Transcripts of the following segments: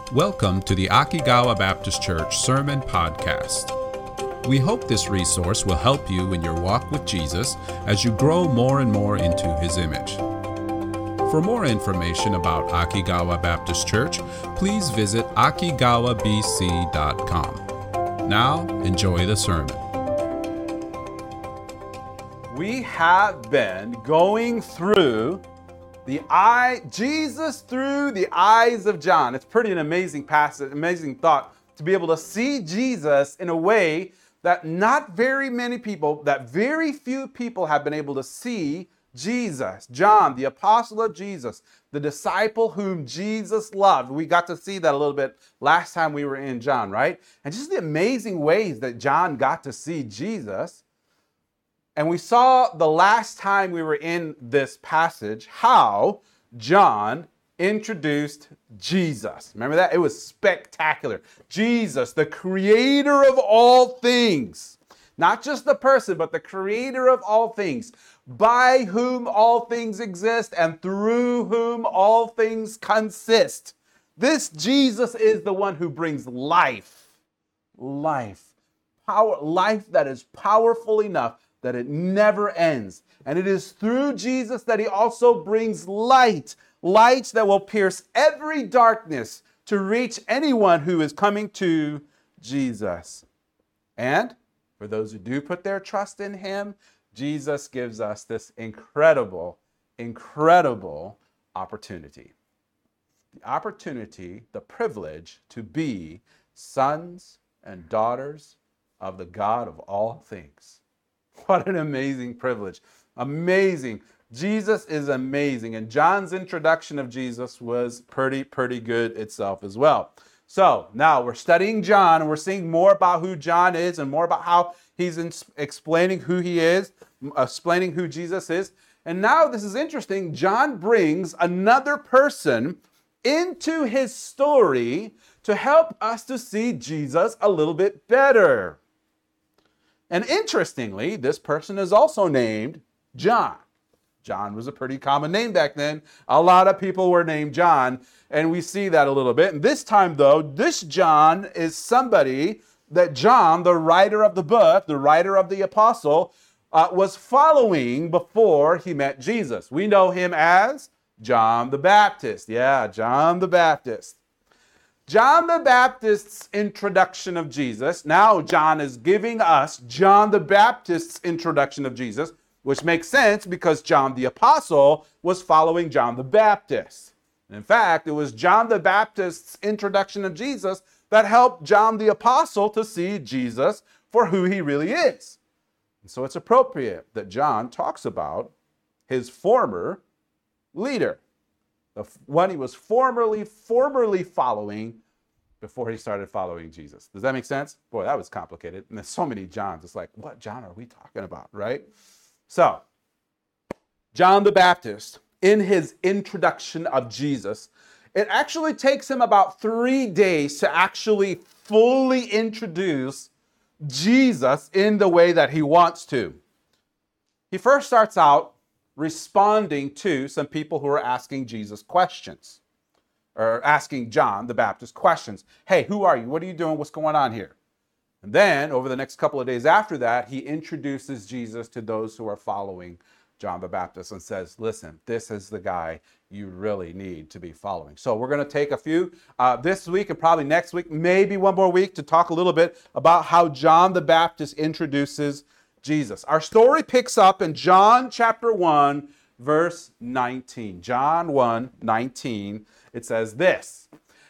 Welcome to the Akigawa Baptist Church Sermon Podcast. We hope this resource will help you in your walk with Jesus as you grow more and more into His image. For more information about Akigawa Baptist Church, please visit akigawabc.com. Now, enjoy the sermon. We have been going through Jesus through the eyes of John. It's pretty an amazing passage, amazing thought to be able to see Jesus in a way that very few people have been able to see Jesus. John, the apostle of Jesus, the disciple whom Jesus loved. We got to see that a little bit last time we were in John, right? And just the amazing ways that John got to see Jesus. And we saw the last time we were in this passage how John introduced Jesus. Remember that? It was spectacular. Jesus, the creator of all things. Not just the person, but the creator of all things, by whom all things exist and through whom all things consist. This Jesus is the one who brings life. Power, life that is powerful enough that it never ends. And it is through Jesus that He also brings light that will pierce every darkness to reach anyone who is coming to Jesus. And for those who do put their trust in Him, Jesus gives us this incredible opportunity. The opportunity, the privilege to be sons and daughters of the God of all things. What an amazing privilege. Amazing. Jesus is amazing. And John's introduction of Jesus was pretty good itself as well. So now we're studying John and we're seeing more about who John is and more about how he's explaining who he is, explaining who Jesus is. And now this is interesting. John brings another person into his story to help us to see Jesus a little bit better. And interestingly, this person is also named John. John was a pretty common name back then. A lot of people were named John, and we see that a little bit. And this time, though, this John is somebody that John, the writer of the book, the writer of the apostle, was following before he met Jesus. We know him as John the Baptist. Yeah, John the Baptist. John the Baptist's introduction of Jesus. Now John is giving us John the Baptist's introduction of Jesus, which makes sense because John the Apostle was following John the Baptist. In fact, it was John the Baptist's introduction of Jesus that helped John the Apostle to see Jesus for who he really is. And so it's appropriate that John talks about his former leader. The one he was formerly following before he started following Jesus. Does that make sense? Boy, that was complicated. And there's so many Johns. It's like, what John are we talking about, right? So, John the Baptist, in his introduction of Jesus, it actually takes him about 3 days to actually fully introduce Jesus in the way that he wants to. He first starts out responding to some people who are asking Jesus questions, or asking John the Baptist questions. Hey, who are you? What are you doing? What's going on here? And then over the next couple of days after that, he introduces Jesus to those who are following John the Baptist and says, listen, this is the guy you really need to be following. So we're going to take a few this week and probably next week, maybe one more week, to talk a little bit about how John the Baptist introduces Jesus. Our story picks up in John chapter 1, verse 19. John 1:19. It says this,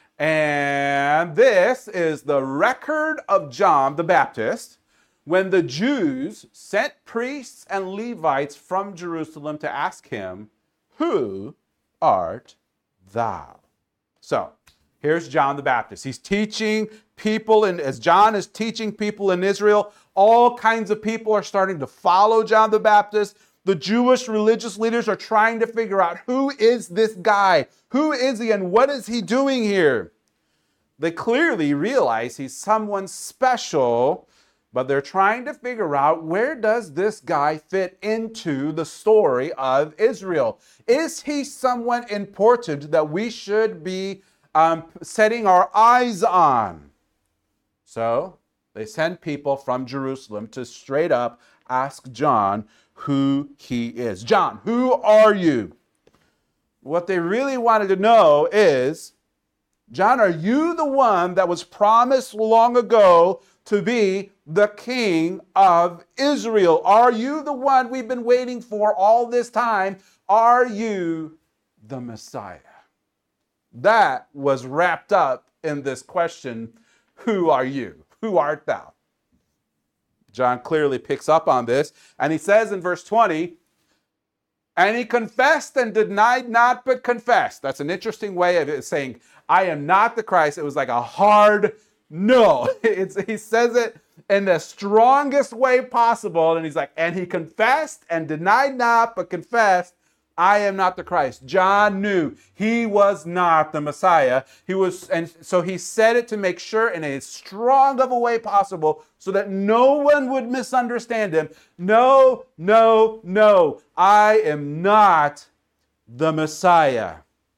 and this is the record of John the Baptist when the Jews sent priests and Levites from Jerusalem to ask him, who art thou? So, here's John the Baptist. He's teaching people, and as John is teaching people in Israel, all kinds of people are starting to follow John the Baptist. The Jewish religious leaders are trying to figure out, who is this guy? Who is he and what is he doing here? They clearly realize he's someone special, but they're trying to figure out, where does this guy fit into the story of Israel? Is he someone important that we should be setting our eyes on. So they send people from Jerusalem to straight up ask John who he is. John, who are you? What they really wanted to know is, John, are you the one that was promised long ago to be the king of Israel? Are you the one we've been waiting for all this time? Are you the Messiah? That was wrapped up in this question, who are you? Who art thou? John clearly picks up on this, and he says in verse 20, and he confessed and denied not, but confessed. That's an interesting way of saying, I am not the Christ. It was like a hard no. He says it in the strongest way possible, and he's like, and he confessed and denied not, but confessed, I am not the Christ. John knew he was not the Messiah. And so he said it to make sure in as strong of a way possible so that no one would misunderstand him. No, no, no, I am not the Messiah.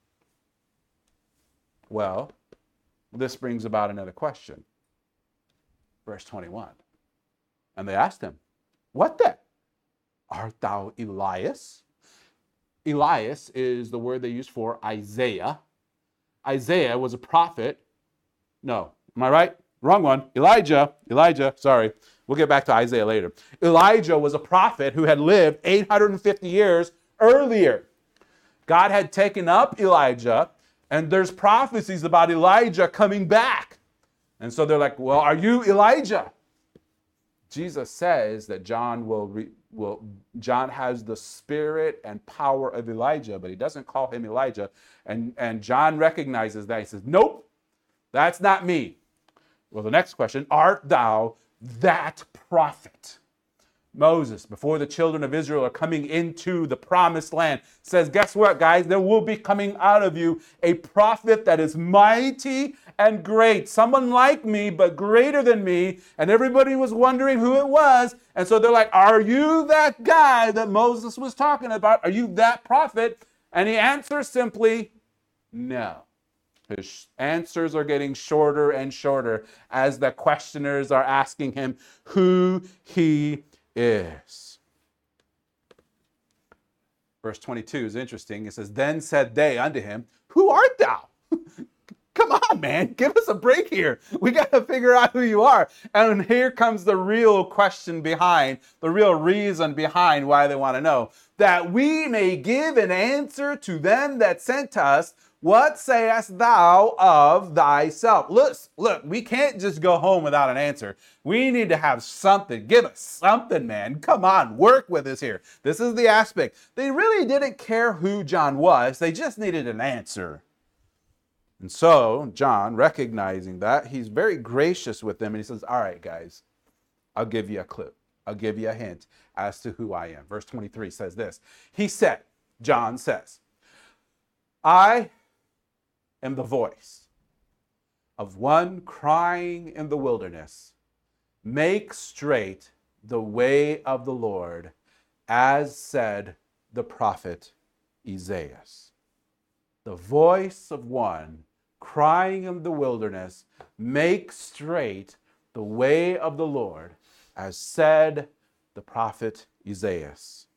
Well, this brings about another question. Verse 21. And they asked him, what then? Art thou Elias? Elias is the word they use for Isaiah. Isaiah was a prophet. No, am I right? Wrong one. Elijah, sorry. We'll get back to Isaiah later. Elijah was a prophet who had lived 850 years earlier. God had taken up Elijah, and there's prophecies about Elijah coming back. And so they're like, well, are you Elijah? Jesus says that John has the spirit and power of Elijah, but he doesn't call him Elijah. And John recognizes that. He says, nope, that's not me. Well, the next question, art thou that prophet? Moses, before the children of Israel are coming into the promised land, says, guess what, guys? There will be coming out of you a prophet that is mighty and great. Someone like me, but greater than me. And everybody was wondering who it was. And so they're like, are you that guy that Moses was talking about? Are you that prophet? And he answers simply, no. His answers are getting shorter and shorter as the questioners are asking him who he is. Verse 22 is interesting. It says, then said they unto him, who art thou? Come on, man, give us a break here. We got to figure out who you are. And here comes the real question behind, the real reason behind why they want to know. That we may give an answer to them that sent us. What sayest thou of thyself? Look, we can't just go home without an answer. We need to have something. Give us something, man. Come on, work with us here. This is the aspect. They really didn't care who John was. They just needed an answer. And so John, recognizing that, he's very gracious with them. And he says, all right, guys, I'll give you a clue. I'll give you a hint as to who I am. Verse 23 says this. He said, John says, I am the voice of one crying in the wilderness, make straight the way of the Lord, as said the prophet Isaiah. The voice of one crying in the wilderness, make straight the way of the Lord, as said the prophet Isaiah.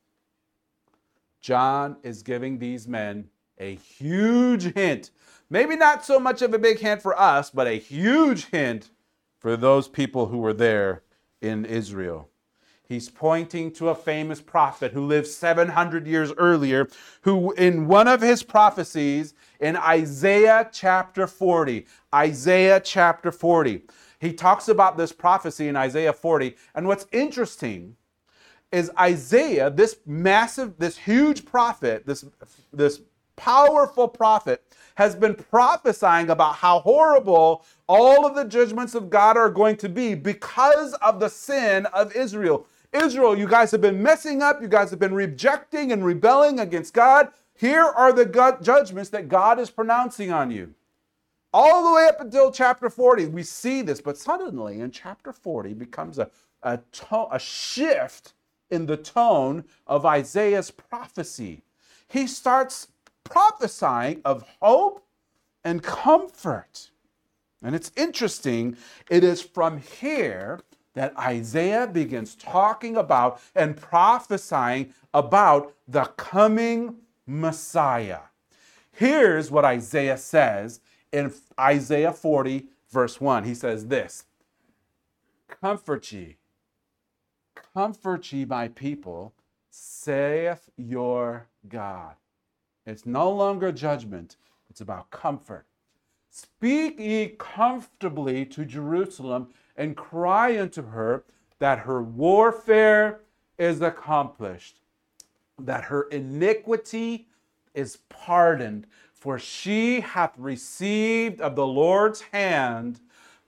John is giving these men a huge hint. Maybe not so much of a big hint for us, but a huge hint for those people who were there in Israel. He's pointing to a famous prophet who lived 700 years earlier, who in one of his prophecies in Isaiah chapter 40, he talks about this prophecy in Isaiah 40. And what's interesting is Isaiah, this huge prophet, this powerful prophet, has been prophesying about how horrible all of the judgments of God are going to be because of the sin of Israel. Israel, you guys have been messing up. You guys have been rejecting and rebelling against God. Here are the judgments that God is pronouncing on you. All the way up until chapter 40, we see this. But suddenly in chapter 40 becomes a shift in the tone of Isaiah's prophecy. He starts prophesying of hope and comfort. And it's interesting, it is from here that Isaiah begins talking about and prophesying about the coming Messiah. Here's what Isaiah says in Isaiah 40, verse 1. He says this, comfort ye, my people, saith your God. It's no longer judgment, it's about comfort. Speak ye comfortably to Jerusalem, and cry unto her that her warfare is accomplished, that her iniquity is pardoned, for she hath received of the Lord's hand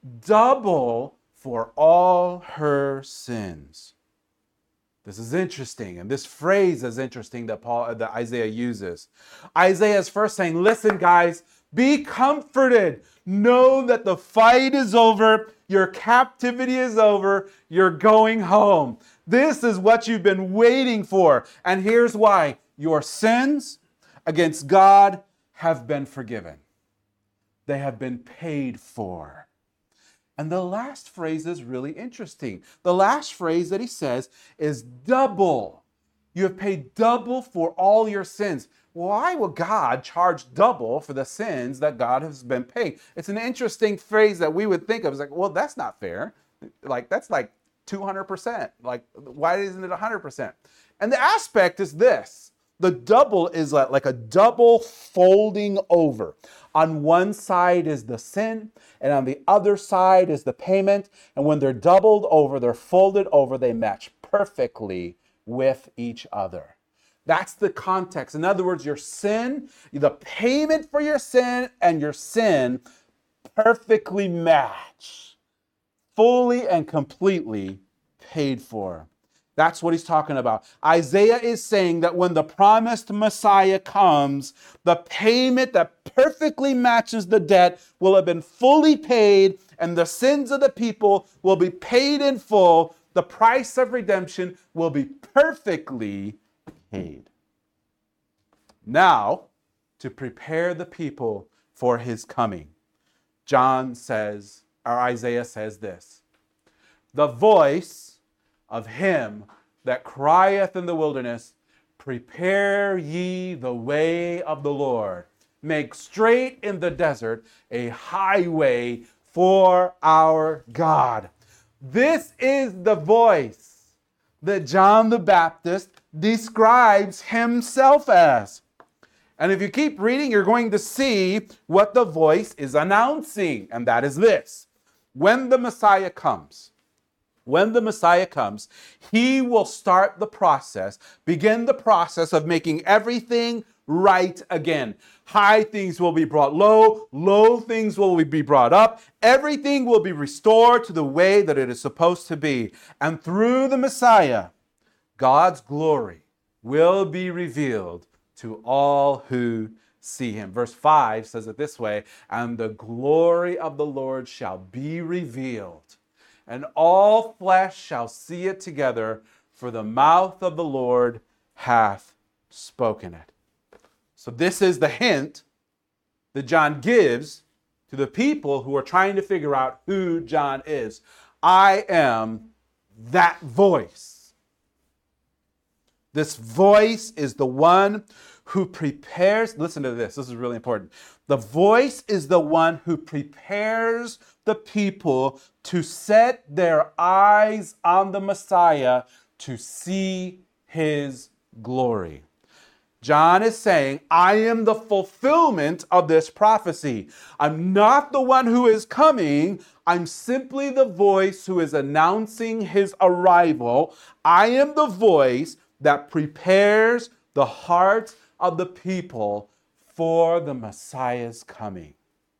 double for all her sins. This is interesting, and this phrase is interesting that Isaiah uses. Isaiah is first saying, listen, guys, be comforted. Know that the fight is over. Your captivity is over. You're going home. This is what you've been waiting for. And here's why. Your sins against God have been forgiven. They have been paid for. And the last phrase is really interesting. The last phrase that he says is double. You have paid double for all your sins. Why will God charge double for the sins that God has been paying? It's an interesting phrase that we would think of. It's like, well, that's not fair. Like, that's like 200%. Like, why isn't it 100%? And the aspect is this. The double is like a double folding over. On one side is the sin, and on the other side is the payment. And when they're doubled over, they're folded over, they match perfectly with each other. That's the context. In other words, your sin, the payment for your sin and your sin perfectly match. Fully and completely paid for. That's what he's talking about. Isaiah is saying that when the promised Messiah comes, the payment that perfectly matches the debt will have been fully paid, and the sins of the people will be paid in full. The price of redemption will be perfectly paid. Now, to prepare the people for his coming, Isaiah says this, the voice of him that crieth in the wilderness, prepare ye the way of the Lord. Make straight in the desert a highway for our God. This is the voice that John the Baptist describes himself as. And if you keep reading, you're going to see what the voice is announcing, and that is this. When the Messiah comes, he will start the process, begin the process of making everything right again. High things will be brought low, low things will be brought up. Everything will be restored to the way that it is supposed to be. And through the Messiah, God's glory will be revealed to all who see him. Verse 5 says it this way, and the glory of the Lord shall be revealed, and all flesh shall see it together, for the mouth of the Lord hath spoken it. So this is the hint that John gives to the people who are trying to figure out who John is. I am that voice. This voice is the one who prepares, listen to this is really important. The voice is the one who prepares the people to set their eyes on the Messiah to see his glory. John is saying, I am the fulfillment of this prophecy. I'm not the one who is coming. I'm simply the voice who is announcing his arrival. I am the voice that prepares the hearts of the people for the Messiah's coming.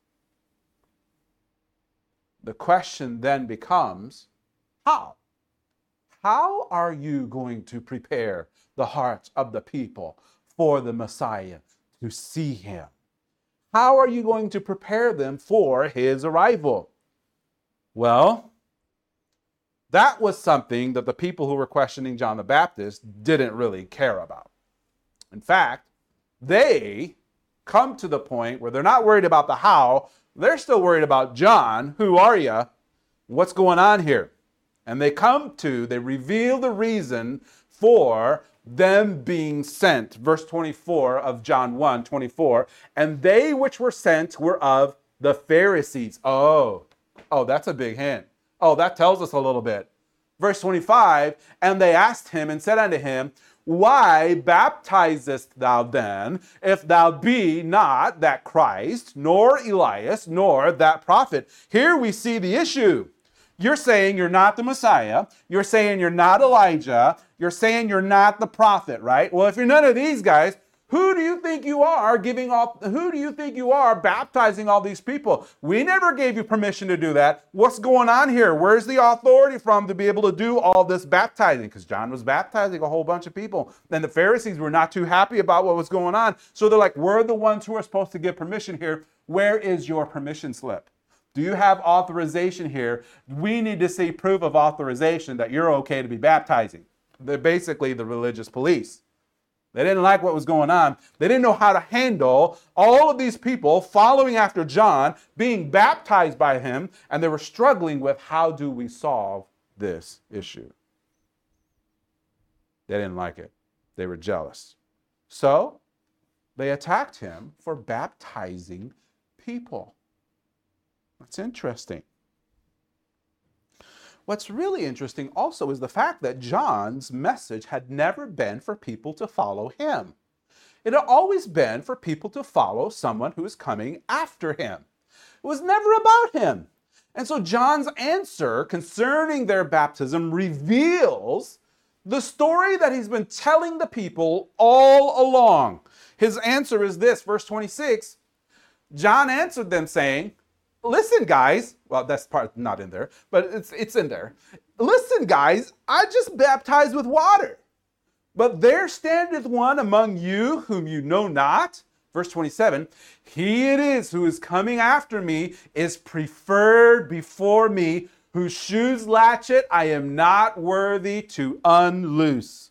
The question then becomes, how? How are you going to prepare the hearts of the people for the Messiah to see him? How are you going to prepare them for his arrival? Well, that was something that the people who were questioning John the Baptist didn't really care about. In fact, they come to the point where they're not worried about the how, they're still worried about John. Who are you? What's going on here? And they reveal the reason for them being sent. Verse 24 of John 1:24. And they which were sent were of the Pharisees. Oh, that's a big hint. Oh, that tells us a little bit. Verse 25, and they asked him and said unto him, why baptizest thou then, if thou be not that Christ, nor Elias, nor that prophet? Here we see the issue. You're saying you're not the Messiah. You're saying you're not Elijah. You're saying you're not the prophet, right? Well, if you're none of these guys, who do you think you are baptizing all these people? We never gave you permission to do that. What's going on here? Where's the authority from to be able to do all this baptizing? Because John was baptizing a whole bunch of people. And the Pharisees were not too happy about what was going on. So they're like, we're the ones who are supposed to give permission here. Where is your permission slip? Do you have authorization here? We need to see proof of authorization that you're okay to be baptizing. They're basically the religious police. They didn't like what was going on. They didn't know how to handle all of these people following after John, being baptized by him, and they were struggling with how do we solve this issue. They didn't like it. They were jealous. So they attacked him for baptizing people. That's interesting. What's really interesting also is the fact that John's message had never been for people to follow him. It had always been for people to follow someone who is coming after him. It was never about him. And so John's answer concerning their baptism reveals the story that he's been telling the people all along. His answer is this, verse 26. John answered them saying, listen, guys. Well, that's part not in there, but it's in there. Listen, guys, I just baptize with water. But there standeth one among you whom you know not. Verse 27, he it is who is coming after me is preferred before me, whose shoes latchet I am not worthy to unloose.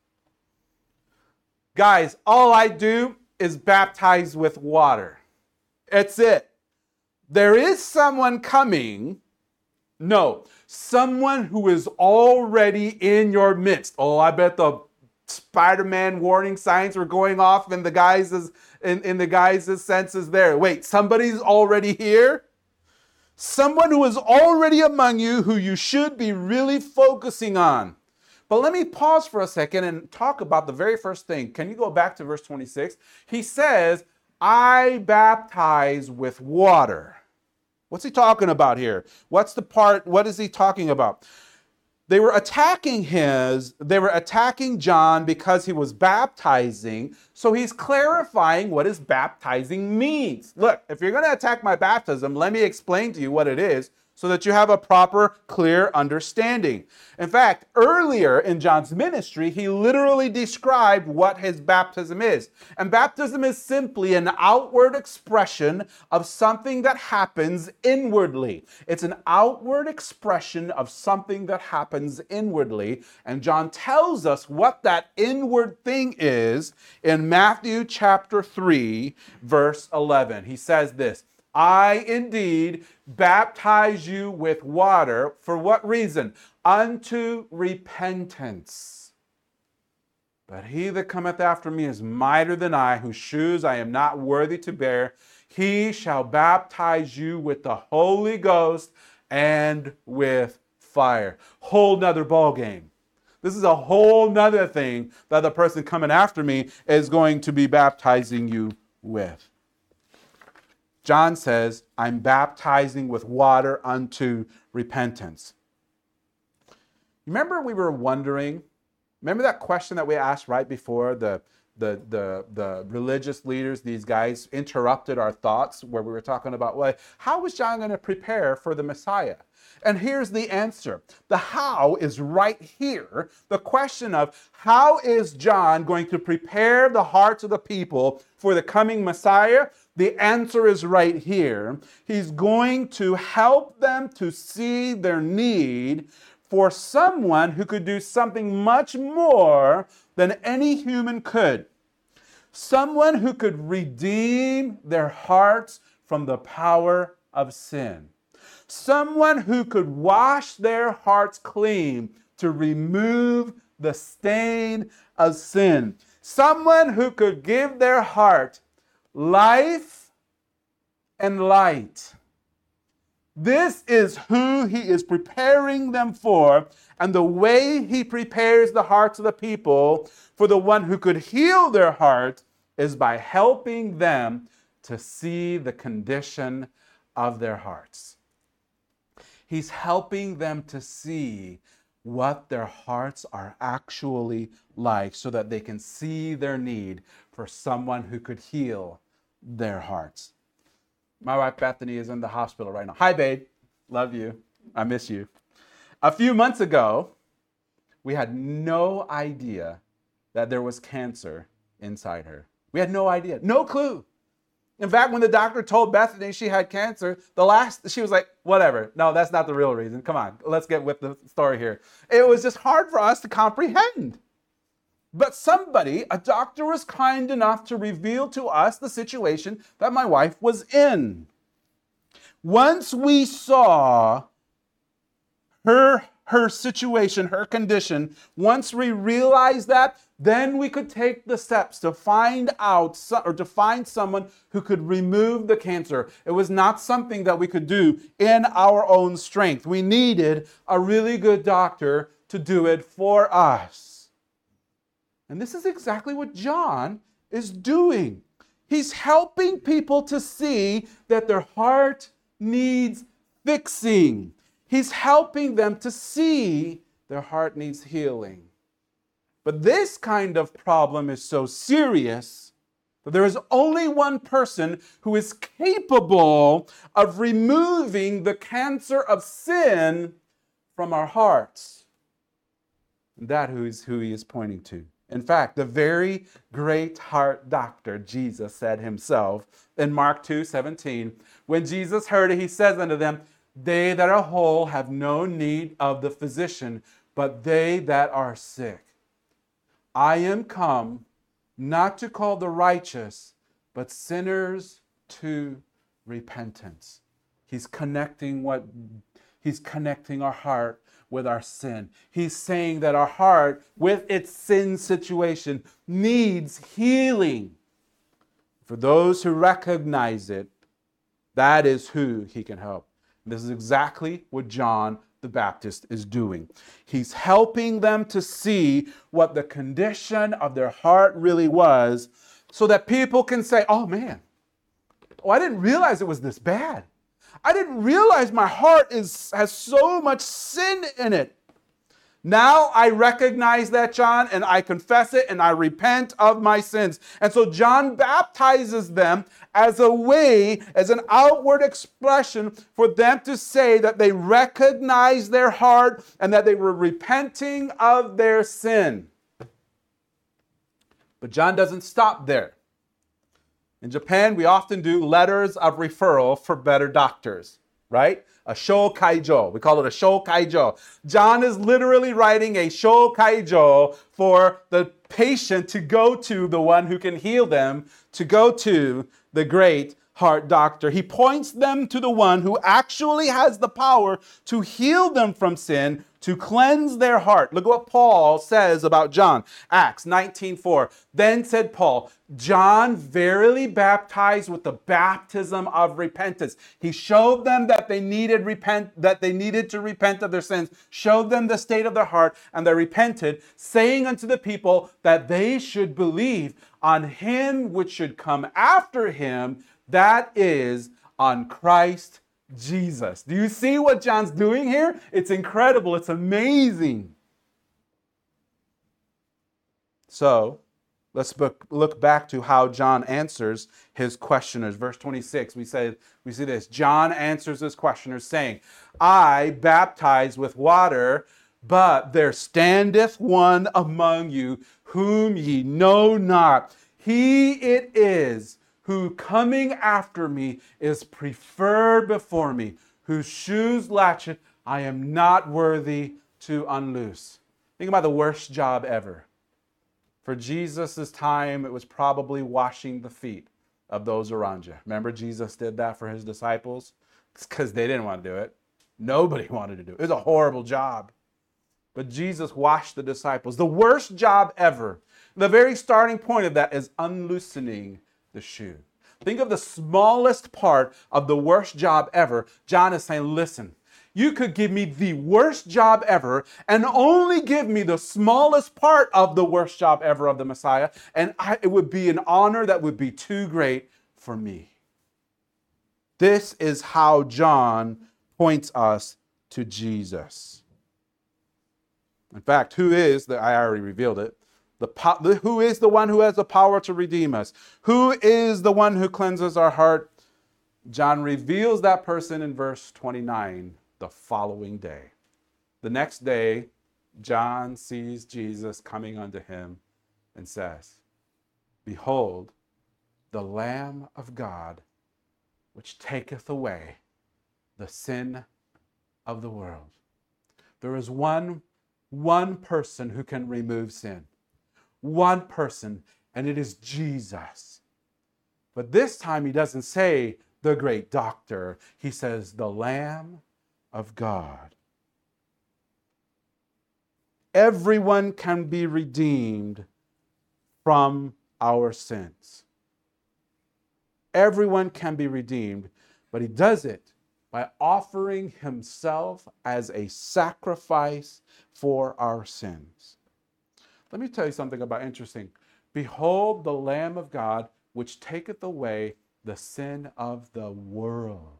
Guys, all I do is baptize with water. That's it. There is someone coming. No, someone who is already in your midst. Oh, I bet the Spider-Man warning signs were going off in the guys' senses there. Wait, somebody's already here? Someone who is already among you who you should be really focusing on. But let me pause for a second and talk about the very first thing. Can you go back to verse 26? He says, I baptize with water. What's he talking about here? What is he talking about? They were attacking John because he was baptizing. So he's clarifying what his baptizing means. Look, if you're going to attack my baptism, let me explain to you what it is so that you have a proper, clear understanding. In fact, earlier in John's ministry, he literally described what his baptism is. And baptism is simply an outward expression of something that happens inwardly. It's an outward expression of something that happens inwardly. And John tells us what that inward thing is in Matthew chapter 3, verse 11. He says this, I indeed baptize you with water. For what reason? Unto repentance. But he that cometh after me is mightier than I, whose shoes I am not worthy to bear. He shall baptize you with the Holy Ghost and with fire. Whole nother ball game. This is a whole nother thing that the person coming after me is going to be baptizing you with. John says, I'm baptizing with water unto repentance. Remember remember that question that we asked right before the religious leaders, these guys interrupted our thoughts where we were talking about, well, how was John going to prepare for the Messiah? And here's the answer. The how is right here. The question of how is John going to prepare the hearts of the people for the coming Messiah? The answer is right here. He's going to help them to see their need for someone who could do something much more than any human could. Someone who could redeem their hearts from the power of sin. Someone who could wash their hearts clean to remove the stain of sin. Someone who could give their heart life and light. This is who he is preparing them for, and the way he prepares the hearts of the people for the one who could heal their heart is by helping them to see the condition of their hearts. He's helping them to see what their hearts are actually like so that they can see their need for someone who could heal their hearts. My wife Bethany is in the hospital right now. Hi, babe. Love you. I miss you. A few months ago, we had no idea that there was cancer inside her. We had no idea, no clue. In fact, when the doctor told Bethany she had cancer, she was like, whatever. No, that's not the real reason. Come on, let's get with the story here. It was just hard for us to comprehend. But a doctor was kind enough to reveal to us the situation that my wife was in. Once we saw her situation, her condition, once we realized that, then we could take the steps to find someone who could remove the cancer. It was not something that we could do in our own strength. We needed a really good doctor to do it for us. And this is exactly what John is doing. He's helping people to see that their heart needs fixing. He's helping them to see their heart needs healing. But this kind of problem is so serious that there is only one person who is capable of removing the cancer of sin from our hearts. And that is who he is pointing to. In fact, the very great heart doctor, Jesus said himself in Mark 2:17, when Jesus heard it, he says unto them, they that are whole have no need of the physician, but they that are sick. I am come not to call the righteous, but sinners to repentance. He's connecting our heart with our sin. He's saying that our heart, with its sin situation, needs healing. For those who recognize it, that is who he can help. This is exactly what John the Baptist is doing. He's helping them to see what the condition of their heart really was so that people can say, oh man, I didn't realize it was this bad. I didn't realize my heart has so much sin in it. Now I recognize that, John, and I confess it and I repent of my sins. And so John baptizes them as a way, as an outward expression for them to say that they recognize their heart and that they were repenting of their sin. But John doesn't stop there. In Japan, we often do letters of referral for better doctors, right? A shokaijo. We call it a shokaijo. John is literally writing a shokaijo for the patient to go to the one who can heal them, to go to the great heart doctor. He points them to the one who actually has the power to heal them from sin, to cleanse their heart. Look at what Paul says about John. Acts 19:4. Then said Paul, John verily baptized with the baptism of repentance. He showed them that they needed to repent of their sins, showed them the state of their heart, and they repented, saying unto the people that they should believe on him which should come after him, that is, on Christ Jesus. Do you see what John's doing here? It's incredible. It's amazing. So, let's look back to how John answers his questioners. Verse 26, we see this. John answers his questioners saying, I baptize with water, but there standeth one among you whom ye know not. He it is who coming after me is preferred before me, whose shoes latchet I am not worthy to unloose. Think about the worst job ever. For Jesus' time, it was probably washing the feet of those around you. Remember, Jesus did that for his disciples? It's because they didn't want to do it. Nobody wanted to do it. It was a horrible job. But Jesus washed the disciples. The worst job ever. The very starting point of that is unloosening the shoe. Think of the smallest part of the worst job ever. John is saying, listen, you could give me the worst job ever and only give me the smallest part of the worst job ever of the Messiah, and it would be an honor that would be too great for me. This is how John points us to Jesus. In fact, I already revealed it, who is the one who has the power to redeem us? Who is the one who cleanses our heart? John reveals that person in verse 29 the following day. The next day, John sees Jesus coming unto him and says, behold, the Lamb of God, which taketh away the sin of the world. There is one person who can remove sin. One person, and it is Jesus. But this time he doesn't say the great doctor. He says the Lamb of God. Everyone can be redeemed from our sins. Everyone can be redeemed, but he does it by offering himself as a sacrifice for our sins. Let me tell you something interesting. Behold the Lamb of God, which taketh away the sin of the world.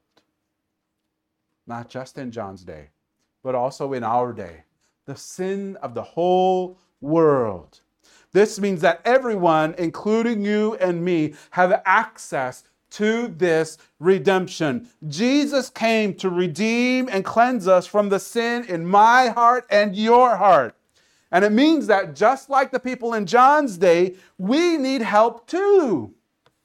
Not just in John's day, but also in our day. The sin of the whole world. This means that everyone, including you and me, have access to this redemption. Jesus came to redeem and cleanse us from the sin in my heart and your heart. And it means that just like the people in John's day, we need help too.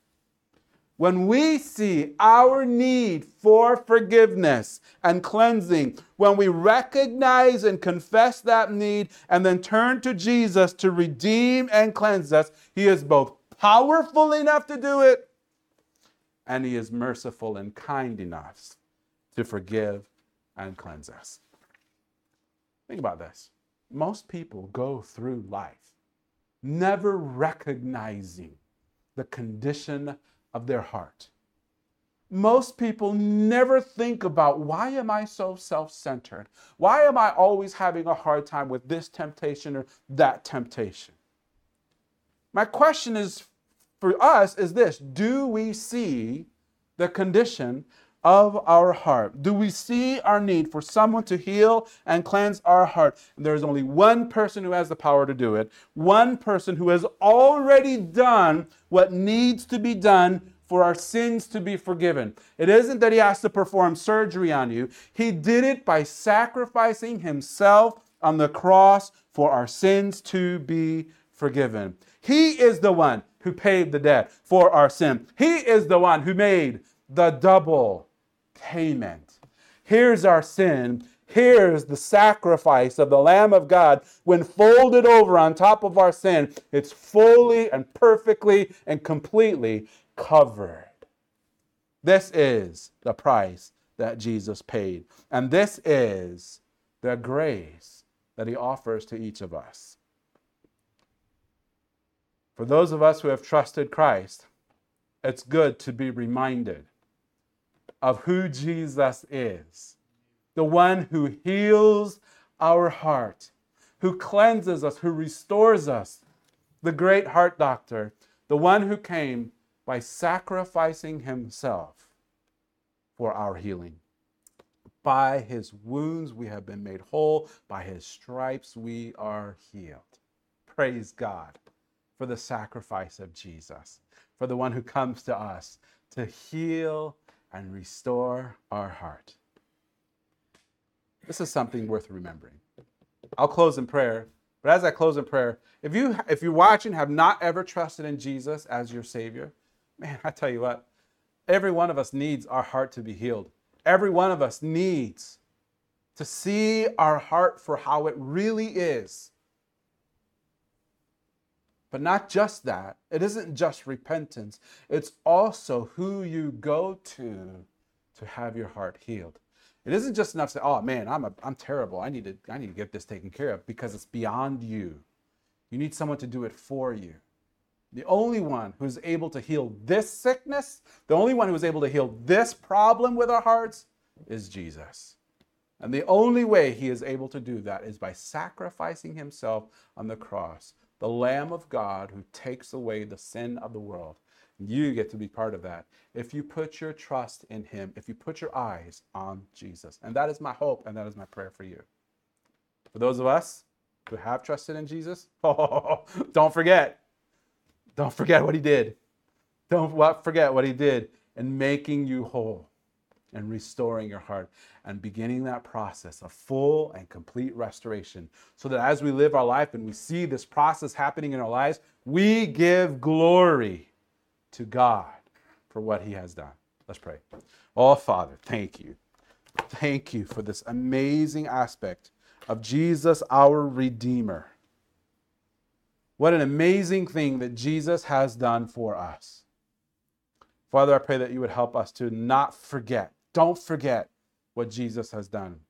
When we see our need for forgiveness and cleansing, when we recognize and confess that need and then turn to Jesus to redeem and cleanse us, he is both powerful enough to do it and he is merciful and kind enough to forgive and cleanse us. Think about this. Most people go through life never recognizing the condition of their heart. Most people never think about, why am I so self-centered? Why am I always having a hard time with this temptation or that temptation? My question is for us is this: do we see the condition of our heart? Do we see our need for someone to heal and cleanse our heart? And there is only one person who has the power to do it. One person who has already done what needs to be done for our sins to be forgiven. It isn't that he has to perform surgery on you. He did it by sacrificing himself on the cross for our sins to be forgiven. He is the one who paid the debt for our sin. He is the one who made the double payment. Here's our sin. Here's the sacrifice of the Lamb of God. When folded over on top of our sin, it's fully and perfectly and completely covered. This is the price that Jesus paid. And this is the grace that he offers to each of us. For those of us who have trusted Christ, it's good to be reminded of who Jesus is. The one who heals our heart, who cleanses us, who restores us. The great heart doctor, the one who came by sacrificing himself for our healing. By his wounds we have been made whole. By his stripes we are healed. Praise God for the sacrifice of Jesus, for the one who comes to us to heal and restore our heart. This is something worth remembering. I'll close in prayer, but as I close in prayer, if you're watching, have not ever trusted in Jesus as your Savior, man, I tell you what, every one of us needs our heart to be healed. Every one of us needs to see our heart for how it really is. But not just that. It isn't just repentance. It's also who you go to have your heart healed. It isn't just enough to say, "Oh man, I'm terrible. I need to get this taken care of," because it's beyond you. You need someone to do it for you. The only one who's able to heal this sickness, the only one who is able to heal this problem with our hearts is Jesus. And the only way he is able to do that is by sacrificing himself on the cross, the Lamb of God who takes away the sin of the world. You get to be part of that if you put your trust in him, if you put your eyes on Jesus. And that is my hope, and that is my prayer for you. For those of us who have trusted in Jesus, don't forget what he did. Don't forget what he did in making you whole and restoring your heart and beginning that process of full and complete restoration, so that as we live our life and we see this process happening in our lives, we give glory to God for what he has done. Let's pray. Oh, Father, thank you. Thank you for this amazing aspect of Jesus, our Redeemer. What an amazing thing that Jesus has done for us. Father, I pray that you would help us to not forget. Don't forget what Jesus has done.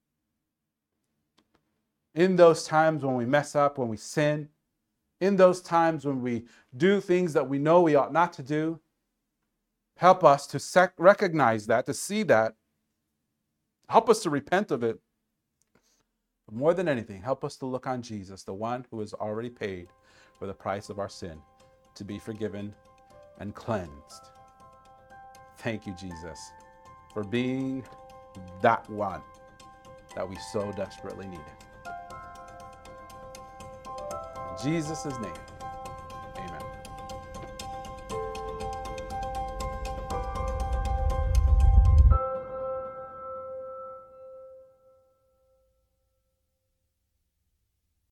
In those times when we mess up, when we sin, in those times when we do things that we know we ought not to do, help us to recognize that, to see that. Help us to repent of it. But more than anything, help us to look on Jesus, the one who has already paid for the price of our sin, to be forgiven and cleansed. Thank you, Jesus, for being that one that we so desperately needed. In Jesus' name.